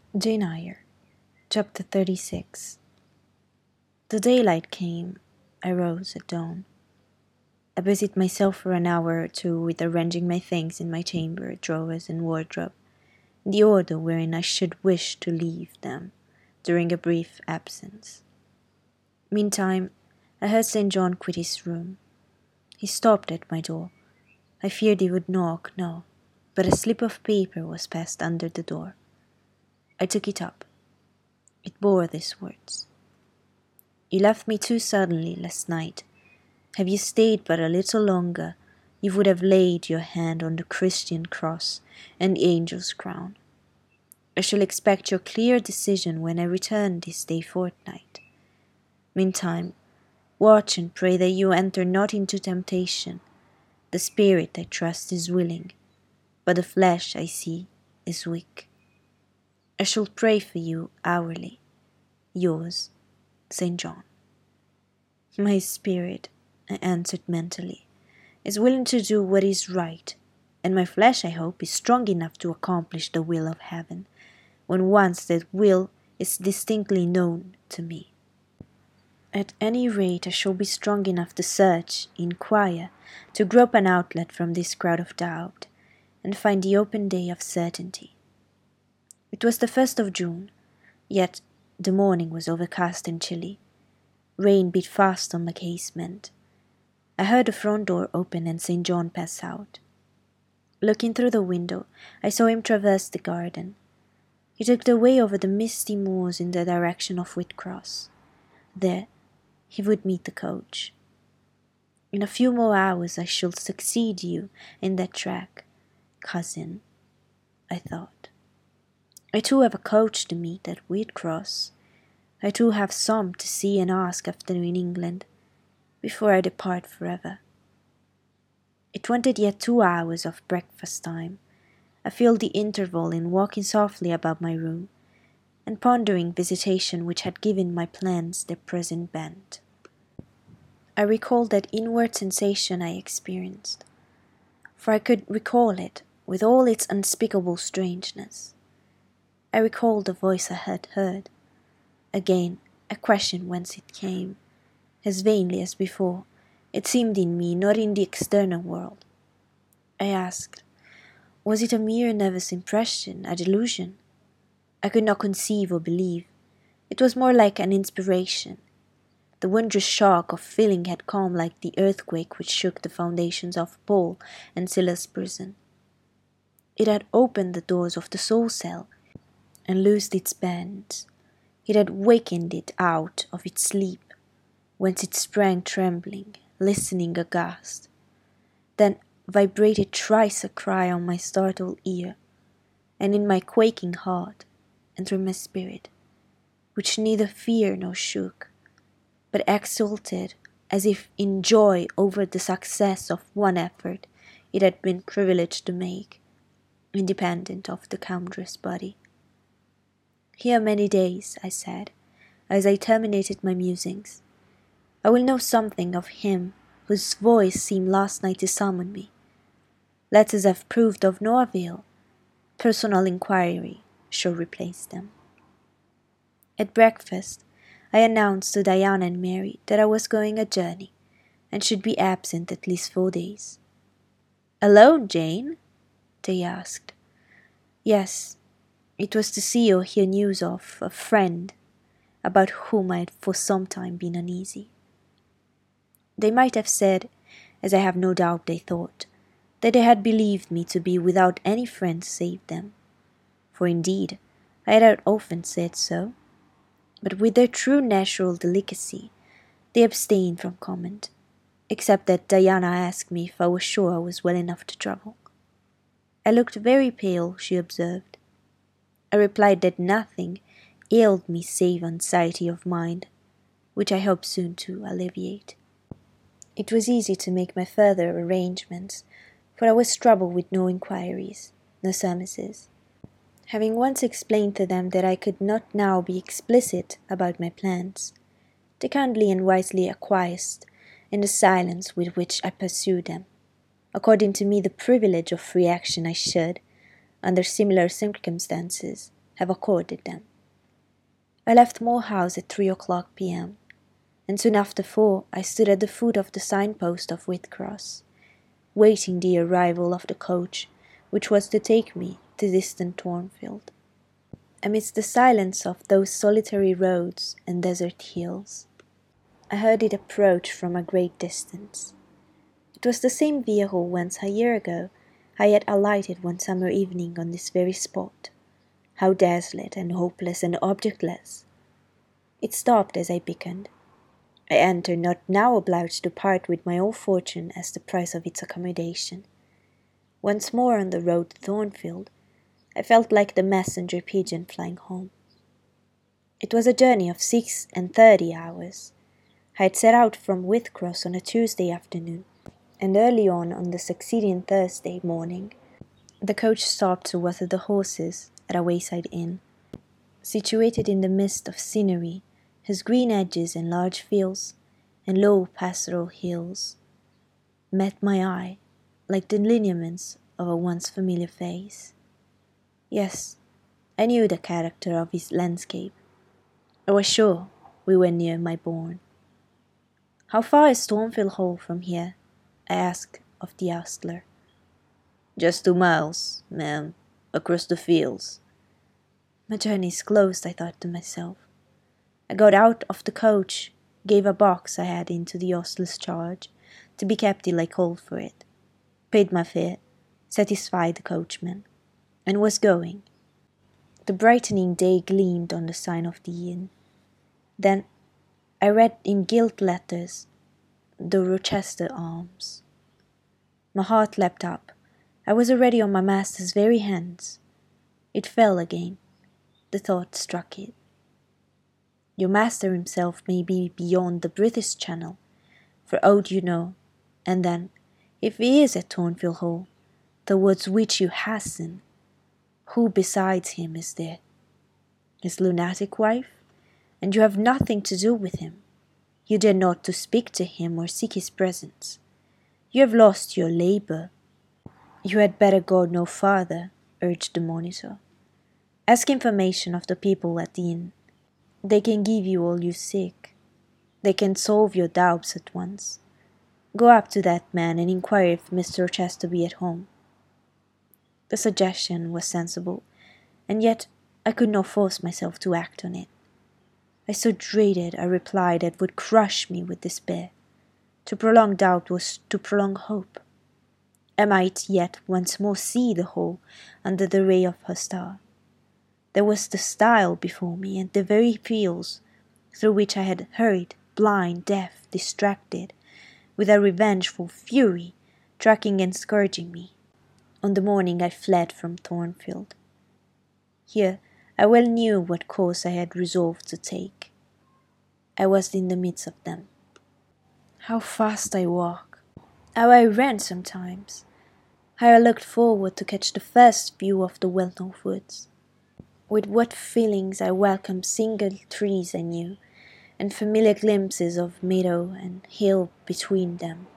Jane Eyre, Chapter 36. The daylight came. I rose at dawn. I busied myself for an hour or two with arranging my things in my chamber, drawers, and wardrobe, in the order wherein I should wish to leave them during a brief absence. Meantime, I heard St. John quit his room. He stopped at my door. I feared he would knock, no, but a slip of paper was passed under the door. I took it up. It bore these words: "You left me too suddenly last night. Have you stayed but a little longer, you would have laid your hand on the Christian cross and the angel's crown. I shall expect your clear decision when I return this day fortnight. Meantime, watch and pray that you enter not into temptation. The spirit, I trust, is willing, but the flesh, I see, is weak. I shall pray for you hourly. Yours, St. John." My spirit, I answered mentally, is willing to do what is right, and my flesh, I hope, is strong enough to accomplish the will of heaven, when once that will is distinctly known to me. At any rate, I shall be strong enough to search, inquire, to grope an outlet from this crowd of doubt, and find the open day of certainty. It was the 1st of June, yet the morning was overcast and chilly. Rain beat fast on the casement. I heard the front door open and St. John pass out. Looking through the window, I saw him traverse the garden. He took the way over the misty moors in the direction of Whitcross. There he would meet the coach. "In a few more hours I shall succeed you in that track, cousin," I thought. "I too have a coach to meet at Whitcross. I too have some to see and ask after in England, before I depart forever." It wanted yet 2 hours of breakfast time. I filled the interval in walking softly about my room, and pondering visitation which had given my plans their present bent. I recalled that inward sensation I experienced, for I could recall it with all its unspeakable strangeness. I recalled the voice I had heard. Again, I questioned whence it came. As vainly as before, it seemed in me, not in the external world. I asked, was it a mere nervous impression, a delusion? I could not conceive or believe. It was more like an inspiration. The wondrous shock of feeling had come like the earthquake which shook the foundations of Paul and Silas' prison. It had opened the doors of the soul cell and loosed its bands. It had wakened it out of its sleep, whence it sprang trembling, listening aghast. Then vibrated thrice a cry on my startled ear, and in my quaking heart, and through my spirit, which neither feared nor shook, but exulted as if in joy over the success of one effort it had been privileged to make, independent of the countless body. "Here many days," I said, as I terminated my musings, "I will know something of him whose voice seemed last night to summon me. Letters have proved of no avail. Personal inquiry shall replace them." At breakfast, I announced to Diana and Mary that I was going a journey, and should be absent at least 4 days. "Alone, Jane?" they asked. "Yes, it was to see or hear news of a friend, about whom I had for some time been uneasy." They might have said, as I have no doubt they thought, that they had believed me to be without any friend save them, for indeed I had often said so, but with their true natural delicacy they abstained from comment, except that Diana asked me if I was sure I was well enough to travel. I looked very pale, she observed. I replied that nothing ailed me save anxiety of mind, which I hope soon to alleviate. It was easy to make my further arrangements, for I was troubled with no inquiries, no surmises. Having once explained to them that I could not now be explicit about my plans, they kindly and wisely acquiesced in the silence with which I pursued them, according to me the privilege of free action I should, under similar circumstances, have accorded them. I left Moor House at 3 o'clock p.m., and soon after 4 I stood at the foot of the signpost of Whitcross, waiting the arrival of the coach which was to take me to distant Thornfield. Amidst the silence of those solitary roads and desert hills, I heard it approach from a great distance. It was the same vehicle whence a year ago I had alighted one summer evening on this very spot. How desolate and hopeless and objectless! It stopped as I beckoned. I entered, not now obliged to part with my own fortune as the price of its accommodation. Once more on the road to Thornfield, I felt like the messenger pigeon flying home. It was a journey of 36 hours. I had set out from Whitcross on a Tuesday afternoon, and early on the succeeding Thursday morning, the coach stopped to water the horses at a wayside inn. Situated in the midst of scenery, whose green edges and large fields and low pastoral hills met my eye like the lineaments of a once familiar face. Yes, I knew the character of his landscape. I was sure we were near my bourne. "How far is Thornfield Hall from here?" I asked of the ostler. "Just 2 miles, ma'am, across the fields." My journey is closed, I thought to myself. I got out of the coach, gave a box I had into the ostler's charge, to be kept till I called for it, paid my fare, satisfied the coachman, and was going. The brightening day gleamed on the sign of the inn. Then I read in gilt letters, "The Rochester Arms." My heart leapt up. I was already on my master's very hands. It fell again. The thought struck it. Your master himself may be beyond the British Channel, for aught you know, and then, if he is at Thornfield Hall, towards which you hasten, who besides him is there? His lunatic wife? And you have nothing to do with him. You dare not to speak to him or seek his presence. You have lost your labour. You had better go no farther, urged the monitor. Ask information of the people at the inn. They can give you all you seek. They can solve your doubts at once. Go up to that man and inquire if Mr. Rochester be at home. The suggestion was sensible, and yet I could not force myself to act on it. I so dreaded a reply that would crush me with despair. To prolong doubt was to prolong hope. I might yet once more see the Hall under the ray of her star. There was the stile before me, and the very fields through which I had hurried, blind, deaf, distracted, with a revengeful fury, tracking and scourging me, on the morning I fled from Thornfield. Here I well knew what course I had resolved to take. I was in the midst of them. How fast I walk! How I ran sometimes! How I looked forward to catch the first view of the well-known woods! With what feelings I welcomed single trees I knew, and familiar glimpses of meadow and hill between them.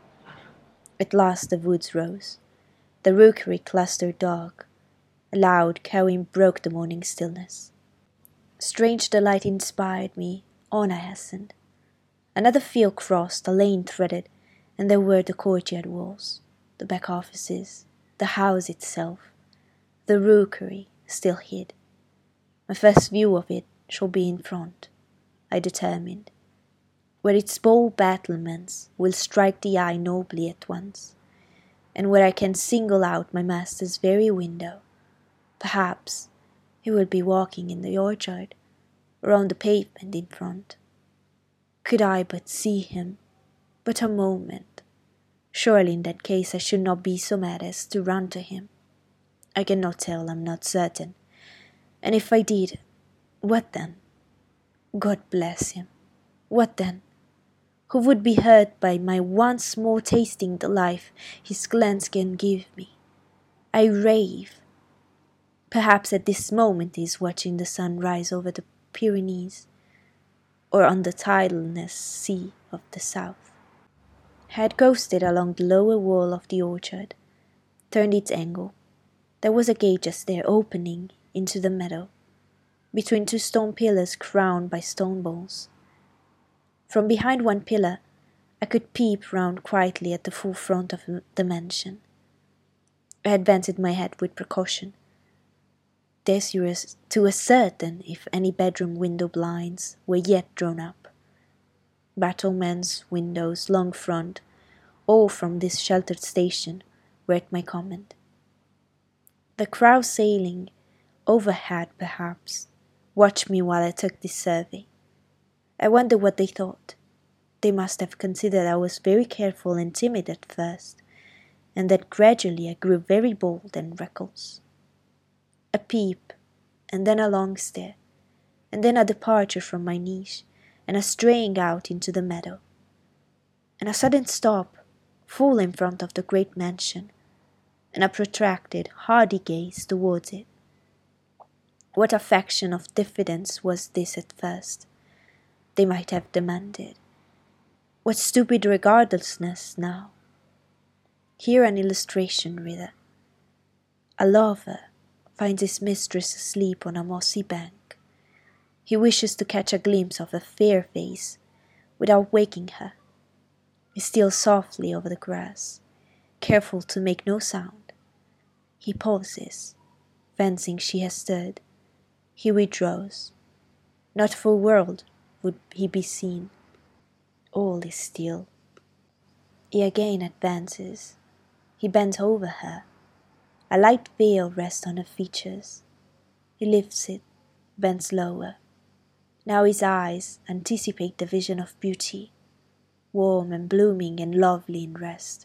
At last the woods rose. The rookery clustered dark. A loud cawing broke the morning stillness. Strange delight inspired me. On I hastened. Another field crossed, a lane threaded, and there were the courtyard walls, the back offices, the house itself, the rookery still hid. My first view of it shall be in front, I determined, where its bold battlements will strike the eye nobly at once, and where I can single out my master's very window. Perhaps he will be walking in the orchard, or on the pavement in front. Could I but see him, but a moment, surely in that case I should not be so mad as to run to him. I cannot tell, I am not certain, and if I did, what then? God bless him. What then? Who would be hurt by my once more tasting the life his glance can give me? I rave. Perhaps at this moment he is watching the sun rise over the Pyrenees, or on the tidalness sea of the south. I had coasted along the lower wall of the orchard, turned its angle. There was a gate just there opening into the meadow. between two stone pillars crowned by stone balls. From behind one pillar, I could peep round quietly at the full front of the mansion. I advanced my head with precaution, desirous to ascertain if any bedroom window blinds were yet drawn up. Battlements, windows, long front, all from this sheltered station, were at my command. The crowd sailing overhead, perhaps, watched me while I took this survey. I wonder what they thought. They must have considered I was very careful and timid at first, and that gradually I grew very bold and reckless. A peep, and then a long stare, and then a departure from my niche, and a straying out into the meadow, and a sudden stop, full in front of the great mansion, and a protracted, hardy gaze towards it. What affection of diffidence was this at first? They might have demanded. What stupid regardlessness now? Here an illustration, reader. A lover finds his mistress asleep on a mossy bank. He wishes to catch a glimpse of a fair face without waking her. He steals softly over the grass, careful to make no sound. He pauses, fancying she has stirred. He withdraws. Not for a world would he be seen. All is still. He again advances. He bends over her. A light veil rests on her features. He lifts it, bends lower. Now his eyes anticipate the vision of beauty, warm and blooming and lovely in rest.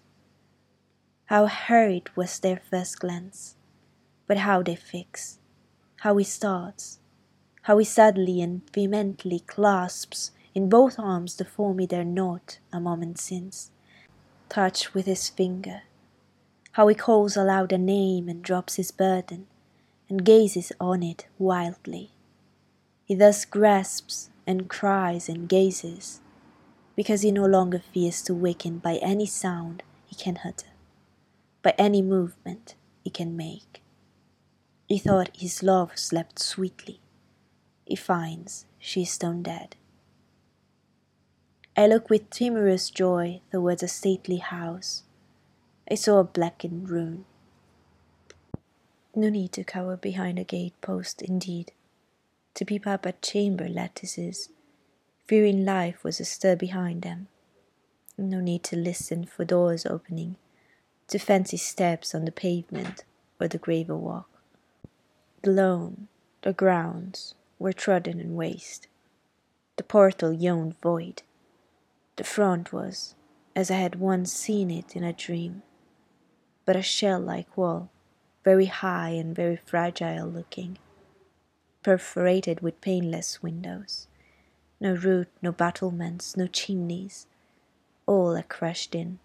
How hurried was their first glance, but how they fix, how he starts, how he suddenly and vehemently clasps in both arms the form he dared not, a moment since, touch with his finger, how he calls aloud a name and drops his burden, and gazes on it wildly. He thus grasps and cries and gazes, because he no longer fears to waken by any sound he can utter, by any movement he can make. He thought his love slept sweetly. He finds she is stone dead. I look with timorous joy towards a stately house. I saw a blackened ruin. No need to cower behind a gate post, indeed, to peep up at chamber lattices, fearing life was astir behind them. No need to listen for doors opening, to fancy steps on the pavement or the gravel walk. The lawn, the grounds, were trodden and waste. The portal yawned void. The front was, as I had once seen it in a dream, but a shell-like wall, very high and very fragile looking, perforated with paneless windows. No roof, no battlements, no chimneys, all are crushed in.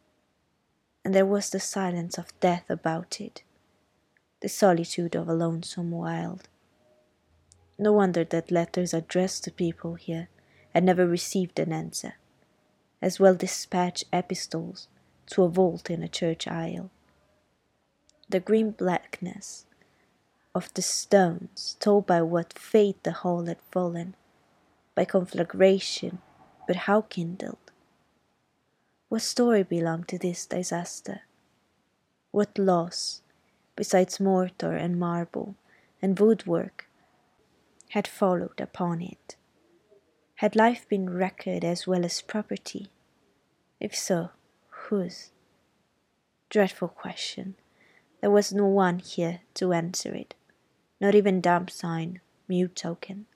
And there was the silence of death about it, the solitude of a lonesome wild. No wonder that letters addressed to people here had never received an answer, as well dispatch epistles to a vault in a church aisle. The grim blackness of the stones told by what fate the hall had fallen, by conflagration, but how kindled? What story belonged to this disaster? What loss, besides mortar and marble and woodwork, had followed upon it? Had life been wrecked as well as property? If so, whose? Dreadful question. There was no one here to answer it, not even dumb sign, mute token.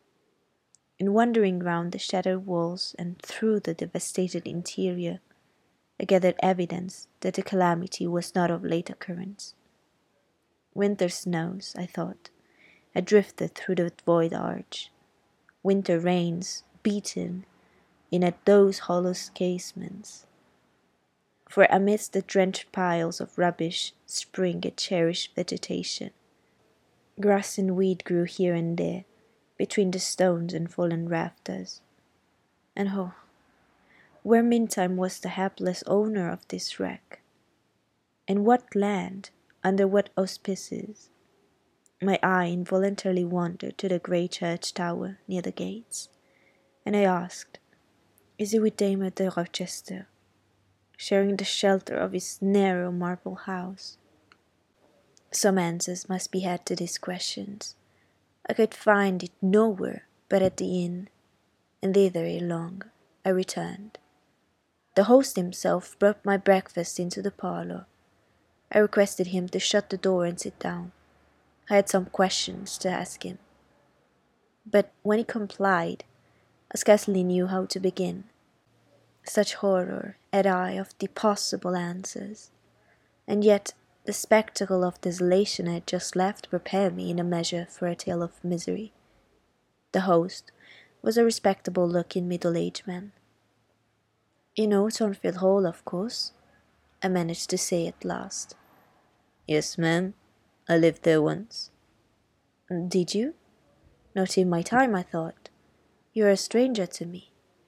In wandering round the shattered walls and through the devastated interior, I gathered evidence that the calamity was not of late occurrence. Winter snows, I thought, had drifted through the void arch. Winter rains beaten in at those hollow casements. For amidst the drenched piles of rubbish sprang a cherished vegetation. Grass and weed grew here and there, between the stones and fallen rafters. And oh, where meantime was the hapless owner of this wreck? In what land, under what auspices? My eye involuntarily wandered to the grey church tower near the gates, and I asked, "Is he with Dame de Rochester, sharing the shelter of his narrow marble house?" Some answers must be had to these questions. I could find it nowhere but at the inn, and thither ere long I returned. The host himself brought my breakfast into the parlour. I requested him to shut the door and sit down. I had some questions to ask him. But when he complied, I scarcely knew how to begin. Such horror had I of the possible answers, and yet the spectacle of desolation I had just left prepared me in a measure for a tale of misery. The host was a respectable-looking middle-aged man. "You know Thornfield Hall, of course?" I managed to say at last. "Yes, ma'am. I lived there once." "Did you? Not in my time, I thought. You are a stranger to me."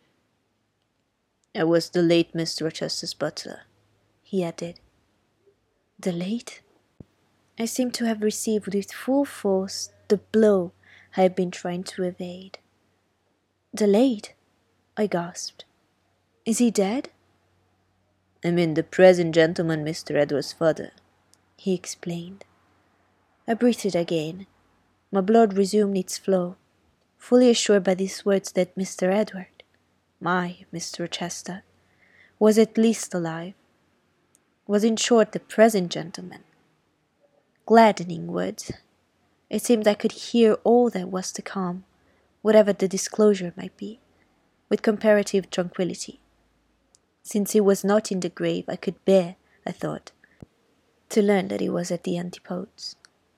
"I was the late Mr. Rochester's butler," he added. The late? I seemed to have received with full force the blow I had been trying to evade. "The late?" I gasped. "Is he dead?" "I mean the present gentleman, Mr. Edward's father," he explained. I breathed again. My blood resumed its flow, fully assured by these words that Mr. Edward, my Mr. Rochester, was at least alive, was in short the present gentleman. Gladdening words. It seemed I could hear all that was to come, whatever the disclosure might be, with comparative tranquillity. Since he was not in the grave, I could bear, I thought, to learn that he was at the antipodes.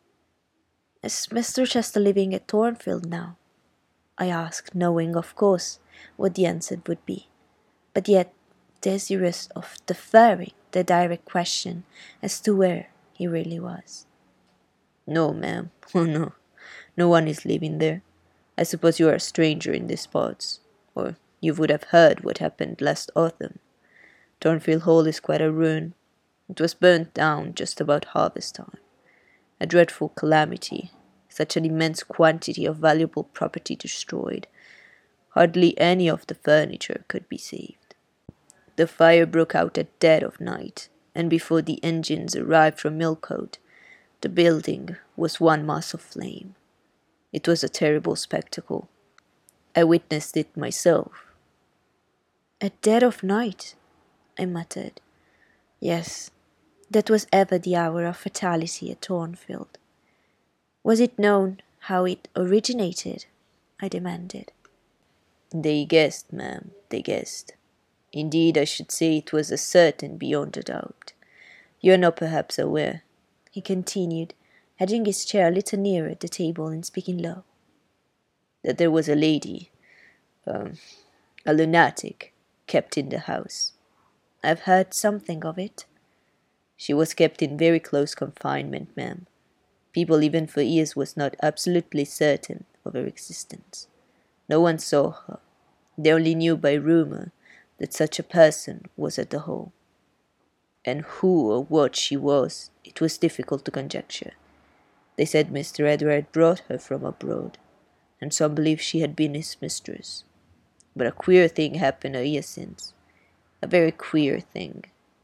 "Is Mr. Rochester living at Thornfield now?" I asked, knowing, of course, what the answer would be, but yet desirous of deferring the direct question as to where he really was. "No, ma'am. Oh, no. No one is living there. I suppose you are a stranger in these parts, or you would have heard what happened last autumn. Thornfield Hall is quite a ruin. It was burnt down just about harvest time. A dreadful calamity. Such an immense quantity of valuable property destroyed. Hardly any of the furniture could be saved. The fire broke out at dead of night, and before the engines arrived from Millcote, the building was one mass of flame. It was a terrible spectacle. I witnessed it myself." "At dead of night?" I muttered. Yes, that was ever the hour of fatality at Thornfield. "Was it known how it originated?" I demanded. "They guessed, ma'am, they guessed. Indeed, I should say it was certain beyond a doubt. You are not perhaps aware," he continued, edging his chair a little nearer the table and speaking low, "that there was a lady, a lunatic, kept in the house." "I've heard something of it." "She was kept in very close confinement, ma'am. People even for years was not absolutely certain of her existence. No one saw her. They only knew by rumour that such a person was at the Hall. And who or what she was, it was difficult to conjecture. They said Mr. Edward brought her from abroad, and some believed she had been his mistress. But a queer thing happened a year since. A very queer thing."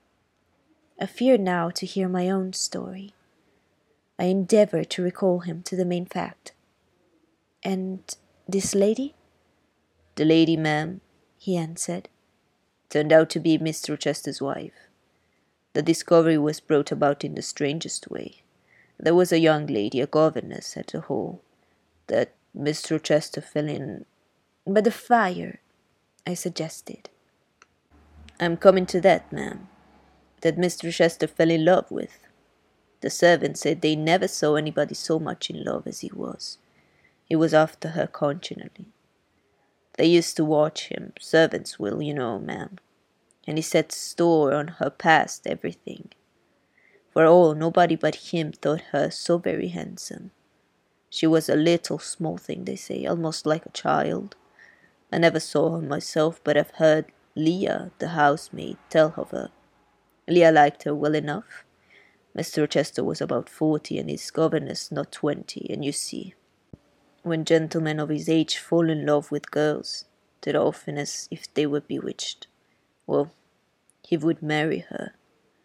I fear now to hear my own story. I endeavoured to recall him to the main fact. "And this lady?" "The lady, ma'am," he answered, "turned out to be Mr. Rochester's wife. The discovery was brought about in the strangest way. There was a young lady, a governess, at the Hall, that Mr. Rochester fell in—" "By the fire," I suggested. "I'm coming to that, ma'am. That Mr. Rochester fell in love with. The servants said they never saw anybody so much in love as he was. He was after her continually. They used to watch him, servants will, you know, ma'am, and he set store on her past everything. For all, nobody but him thought her so very handsome. She was a little small thing, they say, almost like a child. I never saw her myself, but I've heard Leah, the housemaid, tell of her. Leah liked her well enough, Mr. Rochester was about 40 and his governess not 20, and you see, when gentlemen of his age fall in love with girls, they're often as if they were bewitched. Well, he would marry her.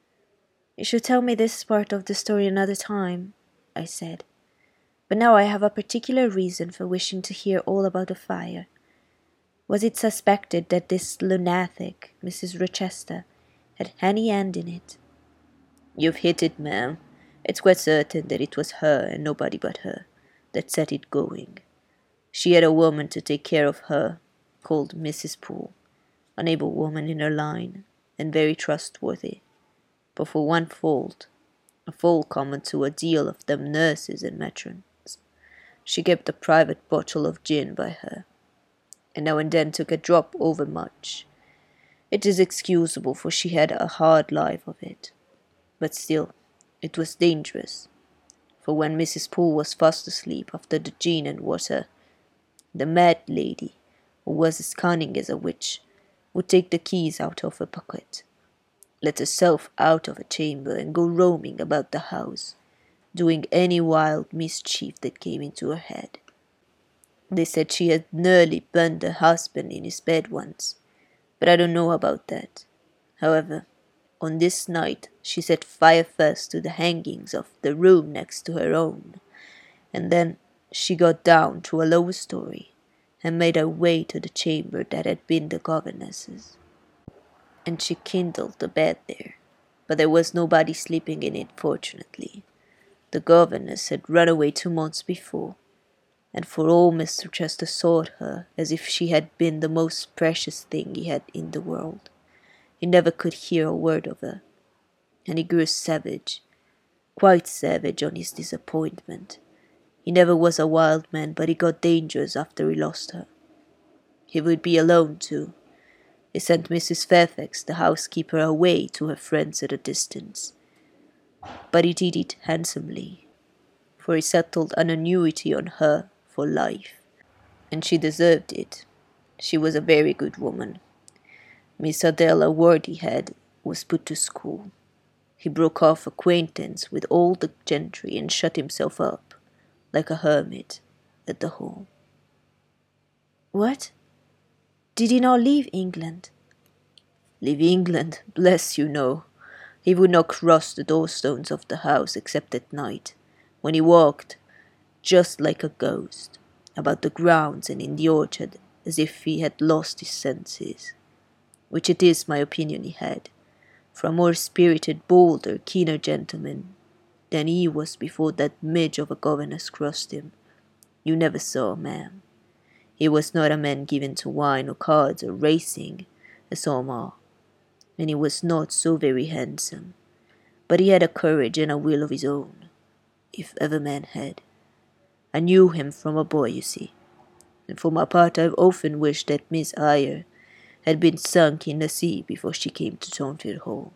You should tell me this part of the story another time, I said. But now I have a particular reason for wishing to hear all about the fire. Was it suspected that this lunatic, Mrs. Rochester, had any hand in it? You've hit it, ma'am. It's quite certain that it was her and nobody but her that set it going. She had a woman to take care of her, called Mrs. Poole, an able woman in her line, and very trustworthy, but for one fault, a fault common to a deal of them nurses and matrons. She kept a private bottle of gin by her, and now and then took a drop overmuch. It is excusable, for she had a hard life of it, but still it was dangerous, for when Mrs. Poole was fast asleep after the gin and water, the mad lady, who was as cunning as a witch, would take the keys out of her pocket, let herself out of her chamber, and go roaming about the house, doing any wild mischief that came into her head. They said she had nearly burned her husband in his bed once, but I don't know about that. However, on this night she set fire first to the hangings of the room next to her own, and then she got down to a lower story, and made her way to the chamber that had been the governess's. And she kindled the bed there, but there was nobody sleeping in it, fortunately. The governess had run away 2 months before, and for all Mr. Chester sought her as if she had been the most precious thing he had in the world, he never could hear a word of her, and he grew savage, quite savage on his disappointment. He never was a wild man, but he got dangerous after he lost her. He would be alone, too. He sent Mrs. Fairfax, the housekeeper, away to her friends at a distance. But he did it handsomely, for he settled an annuity on her for life, and she deserved it. She was a very good woman. Miss Adela Wordyhead was put to school. He broke off acquaintance with all the gentry and shut himself up, like a hermit, at the Hall. What? Did he not leave England? Leave England? Bless you, no. He would not cross the doorstones of the house except at night, when he walked, just like a ghost, about the grounds and in the orchard, as if he had lost his senses, which it is my opinion he had, for a more spirited, bolder, keener gentleman than he was before that midge of a governess crossed him, you never saw, ma'am. He was not a man given to wine or cards or racing, as some are, and he was not so very handsome, but he had a courage and a will of his own, if ever man had. I knew him from a boy, you see, and for my part I've often wished that Miss Eyre had been sunk in the sea before she came to Thornfield Hall.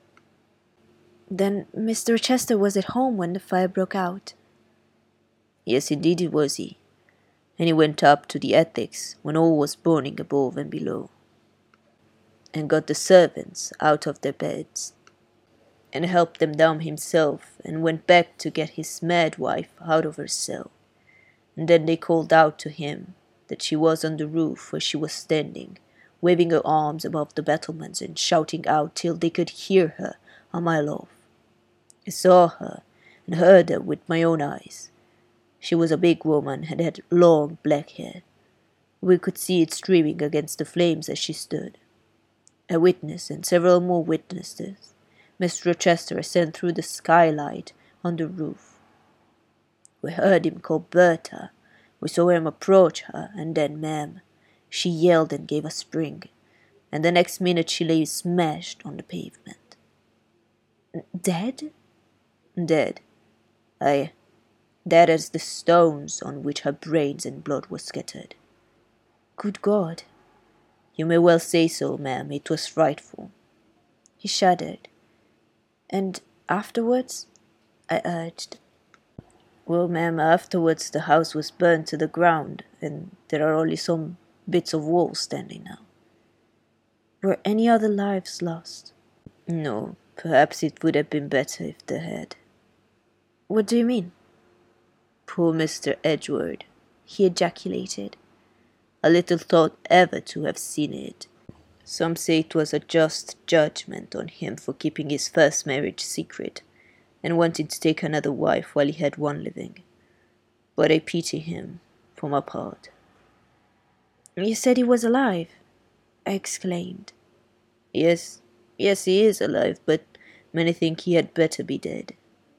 Then Mr. Rochester was at home when the fire broke out? Yes, indeed it was he, and he went up to the attics when all was burning above and below, and got the servants out of their beds, and helped them down himself, and went back to get his mad wife out of her cell, and then they called out to him that she was on the roof where she was standing, waving her arms above the battlements and shouting out till they could hear her a mile off. I saw her and heard her with my own eyes. She was a big woman and had long black hair. We could see it streaming against the flames as she stood. A witness and several more witnesses Mr. Rochester sent through the skylight on the roof. We heard him call Bertha. We saw him approach her, and then, ma'am, she yelled and gave a spring, and the next minute she lay smashed on the pavement. Dead? Dead. Aye, dead as the stones on which her brains and blood were scattered. Good God! You may well say so, ma'am. It was frightful. He shuddered. And afterwards? I urged. Well, ma'am, afterwards the house was burned to the ground, and there are only some bits of wall standing now. Were any other lives lost? No, perhaps it would have been better if there had. What do you mean? Poor Mr. Edward, he ejaculated. I little thought ever to have seen it. Some say it was a just judgment on him for keeping his first marriage secret, and wanting to take another wife while he had one living. But I pity him, for my part. You said he was alive, I exclaimed. Yes, he is alive, but many think he had better be dead.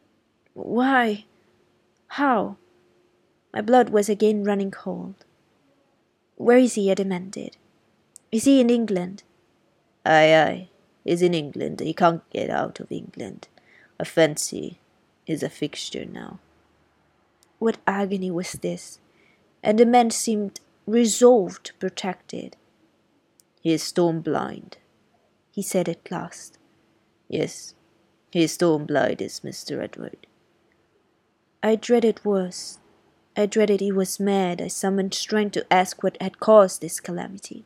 Why? How? My blood was again running cold. Where is he? I demanded. Is he in England? Aye, he's in England. He can't get out of England. I fancy he's a fixture now. What agony was this? And the man seemed resolved to protect it. He is stone blind, he said at last. Yes, he is stone blind, is Mr. Edward. I dreaded worse. I dreaded he was mad. I summoned strength to ask what had caused this calamity.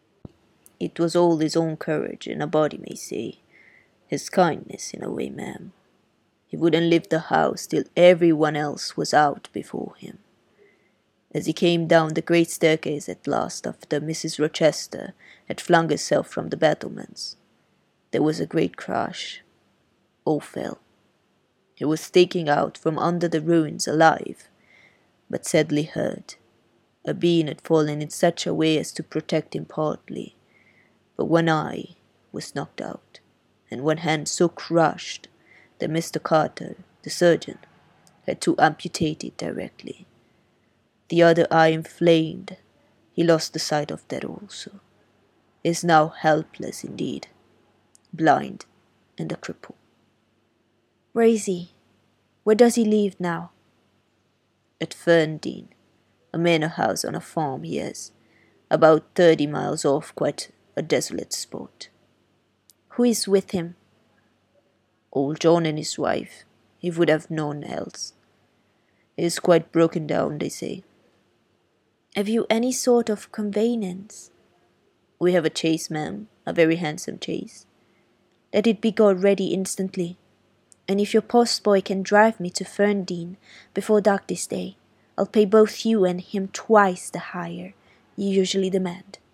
It was all his own courage, and a body may say. His kindness, in a way, ma'am. He wouldn't leave the house till everyone else was out before him. As he came down the great staircase at last, after Mrs. Rochester had flung herself from the battlements, there was a great crash. All fell. He was taken out from under the ruins alive, but sadly hurt. A beam had fallen in such a way as to protect him partly, but one eye was knocked out, and one hand so crushed that Mr. Carter, the surgeon, had to amputate it directly. The other eye inflamed. He lost the sight of that also. He is now helpless indeed, blind and a cripple. Where is he? Where does he live now? At Ferndean, a manor house on a farm he has, about 30 miles off, quite a desolate spot. Who is with him? Old John and his wife. He would have known else. He is quite broken down, they say. Have you any sort of conveyance? We have a chaise, ma'am, a very handsome chaise. Let it be got ready instantly. And if your postboy can drive me to Ferndean before dark this day, I'll pay both you and him twice the hire you usually demand.